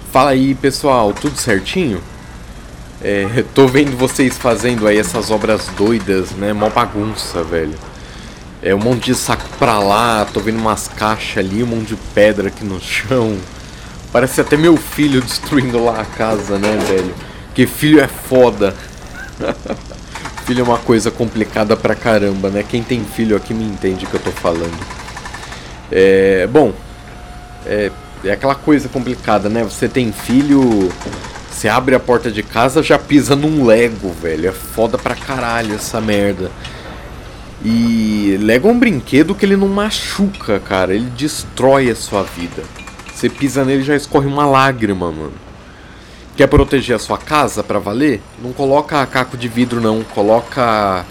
Fala aí, pessoal, tudo certinho? Tô vendo vocês fazendo aí essas obras doidas, né? Mó bagunça, velho. Um monte de saco pra lá, tô vendo umas caixas ali, um monte de pedra aqui no chão. Parece até meu filho destruindo lá a casa, né, velho? Que filho é foda. Filho é uma coisa complicada pra caramba, né? Quem tem filho aqui me entende o que eu tô falando. Bom, é aquela coisa complicada, né? Você tem filho, você abre a porta de casa, já pisa num Lego, velho. É foda pra caralho essa merda. E Lego é um brinquedo que ele não machuca, cara. Ele destrói a sua vida. Você pisa nele e já escorre uma lágrima, mano. Quer proteger a sua casa pra valer? Não coloca caco de vidro, não. Coloca...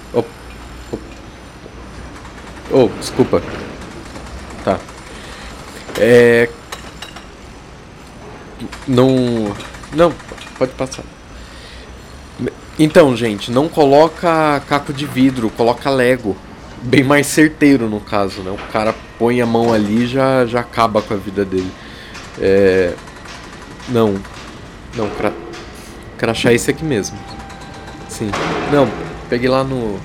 Oh, desculpa. Tá. Não... Não, pode passar. Então, gente, não coloca caco de vidro, coloca Lego. Bem mais certeiro no caso, né? O cara põe a mão ali e já acaba com a vida dele. Não, não, crachá é esse aqui mesmo. Sim. Não, peguei lá no...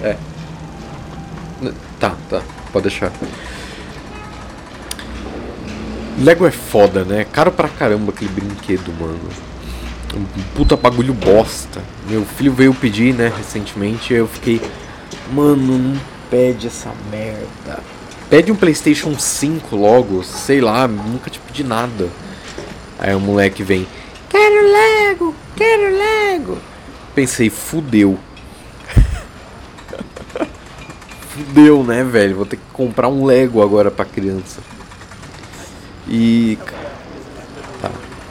Tá, pode deixar. Lego é foda, né? Caro pra caramba aquele brinquedo, mano. Um puta bagulho bosta. Meu filho veio pedir, né, recentemente, e eu fiquei... Mano, não pede essa merda. Pede um PlayStation 5 logo, sei lá, nunca te pedi nada. Aí o moleque vem... Quero Lego, quero Lego. Pensei, fudeu. Fudeu, né, velho? Vou ter que comprar um Lego agora pra criança. E... Tá.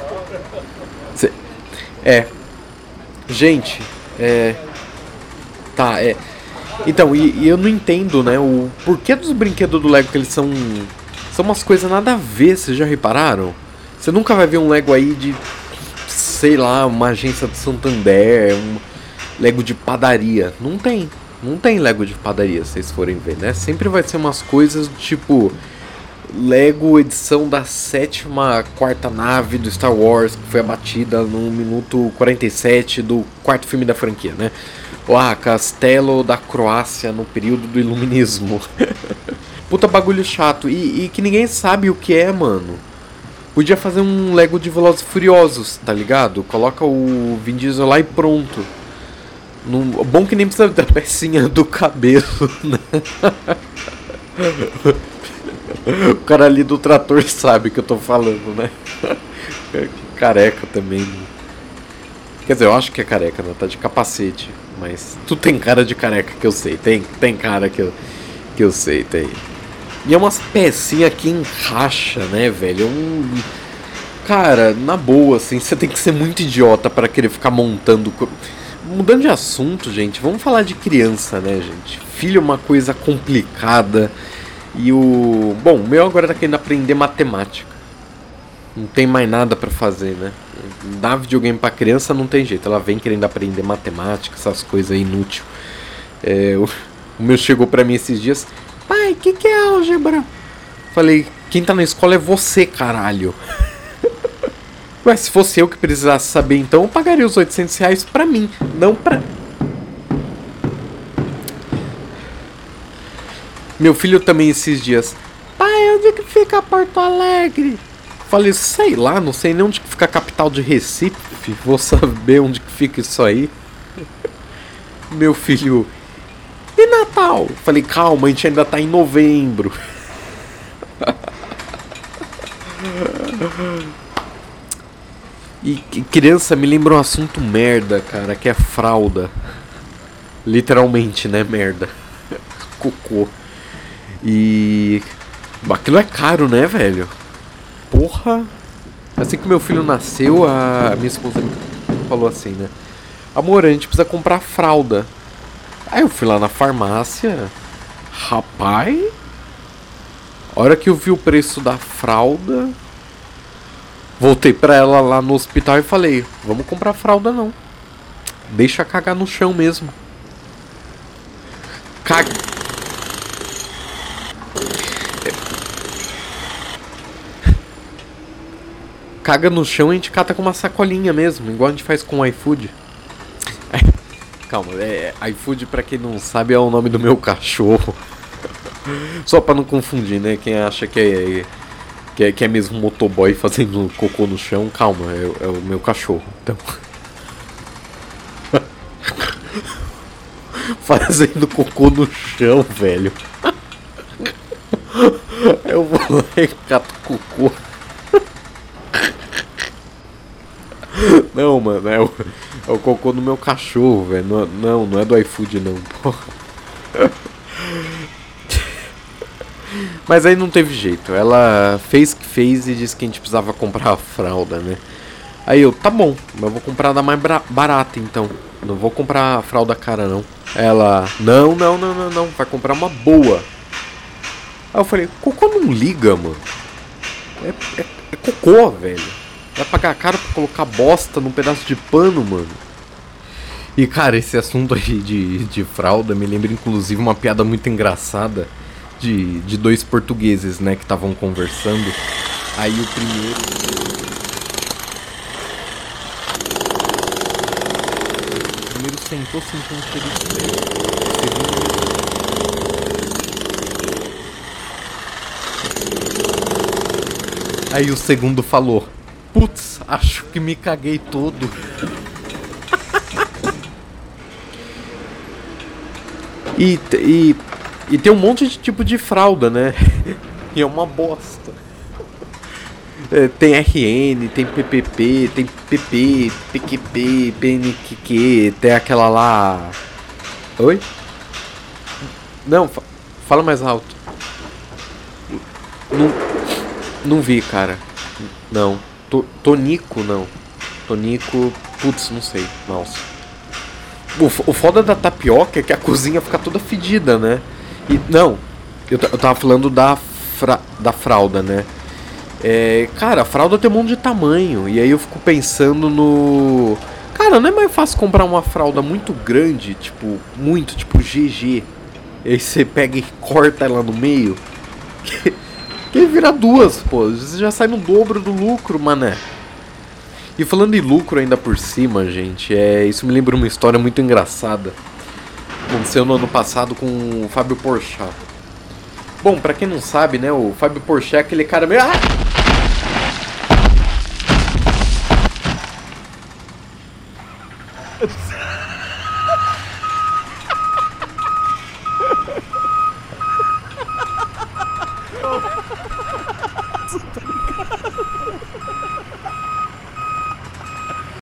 Gente, Tá, Então, e eu não entendo, né, o porquê dos brinquedos do Lego que eles são... São umas coisas nada a ver, vocês já repararam? Você nunca vai ver um Lego aí de... Sei lá, uma agência de Santander, um Lego de padaria. Não tem Lego de padaria, se vocês forem ver, né? Sempre vai ser umas coisas do tipo... Lego edição da 7ª nave do Star Wars, que foi abatida no minuto 47 do 4º filme da franquia, né? Castelo da Croácia no período do Iluminismo. Puta bagulho chato. E que ninguém sabe o que é, mano. Podia fazer um Lego de Velozes e Furiosos, tá ligado? Coloca o Vin Diesel lá e pronto. Bom que nem precisa da pecinha do cabelo, né? O cara ali do trator sabe o que eu tô falando, né? Careca também. Quer dizer, eu acho que é careca, né? Tá de capacete. Mas tu tem cara de careca que eu sei. Tem cara que eu sei, tem. E é umas pecinhas que encaixa, né, velho? Cara, na boa, assim, você tem que ser muito idiota pra querer ficar montando... Mudando de assunto, gente, vamos falar de criança, né, gente? Filho é uma coisa complicada... E o... Bom, o meu agora tá querendo aprender matemática. Não tem mais nada pra fazer, né? Dar videogame pra criança não tem jeito. Ela vem querendo aprender matemática, essas coisas inúteis. O meu chegou pra mim esses dias. Pai, o que é álgebra? Falei, quem tá na escola é você, caralho. Ué, se fosse eu que precisasse saber, então eu pagaria os R$ 800 pra mim, não pra... Meu filho também esses dias. Pai, onde que fica Porto Alegre? Falei, sei lá, não sei nem onde que fica a capital de Recife. Vou saber onde que fica isso aí. Meu filho. E Natal? Falei, calma, a gente ainda tá em novembro. E criança me lembra um assunto merda, cara, que é fralda. Literalmente, né, merda. Cocô. E... Aquilo é caro, né, velho? Porra! Assim que meu filho nasceu, a minha esposa me falou assim, né? Amor, a gente precisa comprar fralda. Aí eu fui lá na farmácia. Rapaz... A hora que eu vi o preço da fralda... Voltei pra ela lá no hospital e falei... Vamos comprar fralda não. Deixa cagar no chão mesmo. Caga... caga no chão, a gente cata com uma sacolinha mesmo, igual a gente faz com o iFood. Calma, iFood, pra quem não sabe, é o nome do meu cachorro. Só pra não confundir, né? Quem acha que é mesmo motoboy fazendo cocô no chão, calma, é o meu cachorro. Então. Fazendo cocô no chão, velho. Eu vou lá e cato cocô. Não, mano, é o cocô do meu cachorro, velho. Não é do iFood, não, porra. Mas aí não teve jeito. Ela fez que fez e disse que a gente precisava comprar a fralda, né? Aí eu, tá bom, mas eu vou comprar da mais barata então. Não vou comprar a fralda cara, não. Ela, não, vai comprar uma boa. Aí eu falei, cocô não liga, mano. É cocô, velho. Vai pagar caro pra colocar bosta num pedaço de pano, mano. E cara, esse assunto aí de fralda me lembra inclusive uma piada muito engraçada de dois portugueses, né, que estavam conversando. Aí o primeiro sentou, sentiu um cheiro estranho. Aí o segundo falou, putz, acho que me caguei todo. E tem um monte de tipo de fralda, né? E é uma bosta. Tem RN, tem PPP, tem PP, PQP, PNQQ, tem aquela lá... Oi? Não, fala mais alto. Não vi, cara. Não. Tonico, não. Tonico, putz, não sei. Nossa. O foda da tapioca é que a cozinha fica toda fedida, né? E, não, eu tava falando da fralda, né? Cara, a fralda tem um monte de tamanho. E aí eu fico pensando no... Cara, não é mais fácil comprar uma fralda muito grande, tipo GG. E aí você pega e corta ela no meio. Que vira duas, pô. Você já sai no dobro do lucro, mané. E falando em lucro ainda por cima, gente, isso me lembra uma história muito engraçada. Aconteceu no ano passado com o Fábio Porchat. Bom, pra quem não sabe, né, o Fábio Porchat é aquele cara meio...